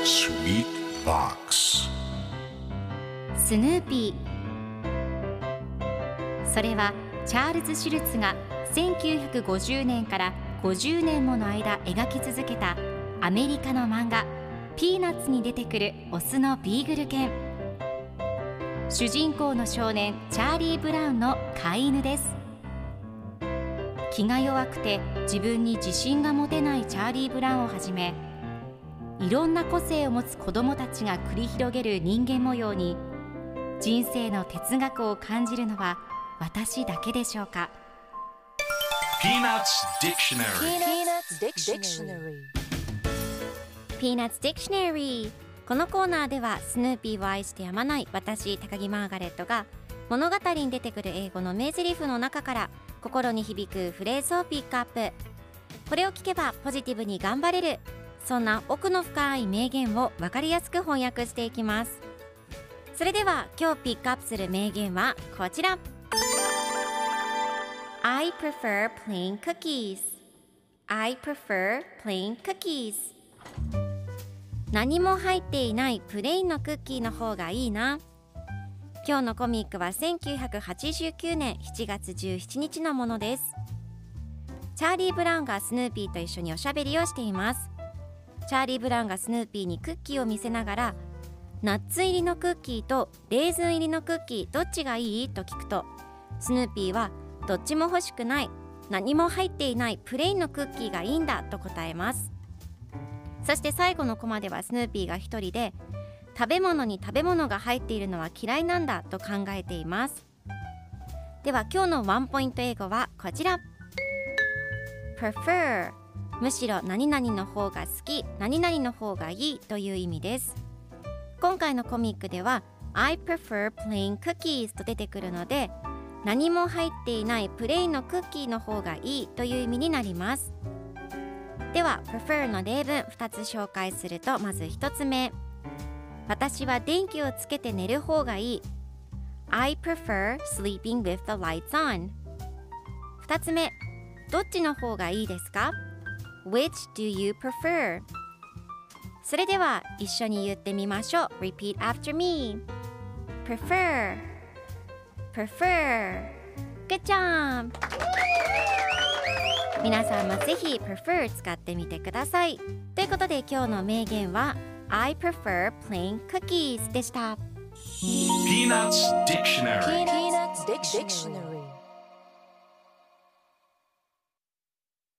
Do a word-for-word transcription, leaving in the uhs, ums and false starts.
Sweet Box スヌーピー。それはチャールズ・シュルツがせんきゅうひゃくごじゅうねんからごじゅうねんもの間描き続けたアメリカの漫画ピーナッツに出てくるオスのビーグル犬。主人公の少年チャーリー・ブラウンの飼い犬です。気が弱くて自分に自信が持てないチャーリー・ブラウンをはじめ、いろんな個性を持つ子どもたちが繰り広げる人間模様に人生の哲学を感じるのは私だけでしょうか。 Peanuts Dictionary Peanuts Dictionary。 このコーナーではスヌーピーを愛してやまない私高木マーガレットが物語に出てくる英語の名台詞の中から心に響くフレーズをピックアップ。これを聞けばポジティブに頑張れる、そんな奥の深い名言を分かりやすく翻訳していきます。それでは今日ピックアップする名言はこちら。 I prefer plain cookies I prefer plain cookies。 何も入っていないプレインのクッキーの方がいいな。今日のコミックはせんきゅうひゃくはちじゅうきゅうねんしちがつじゅうしちにちのものです。チャーリー・ブラウンがスヌーピーと一緒におしゃべりをしています。チャーリー・ブラウンがスヌーピーにクッキーを見せながら、ナッツ入りのクッキーとレーズン入りのクッキーどっちがいいと聞くと、スヌーピーはどっちも欲しくない、何も入っていないプレインのクッキーがいいんだと答えます。そして最後のコマではスヌーピーが一人で、食べ物に食べ物が入っているのは嫌いなんだと考えています。では今日のワンポイント英語はこちら。 prefer、 むしろ何々の方が好き、何々の方がいいという意味です。今回のコミックでは I prefer plain cookies と出てくるので、何も入っていないプレインのクッキーの方がいいという意味になります。では prefer の例文ふたつ紹介すると、まずひとつめ、私は電気をつけて寝る方がいい。 I prefer sleeping with the lights on。 ふたつめ、どっちの方がいいですか？ Which do you prefer？ それでは一緒に言ってみましょう。 Repeat after me。 Prefer Prefer。 Good job。 皆さんもぜひ Prefer 使ってみてください。ということで今日の名言はI prefer plain cookies でした。 Peanuts Dictionary Peanuts Dictionary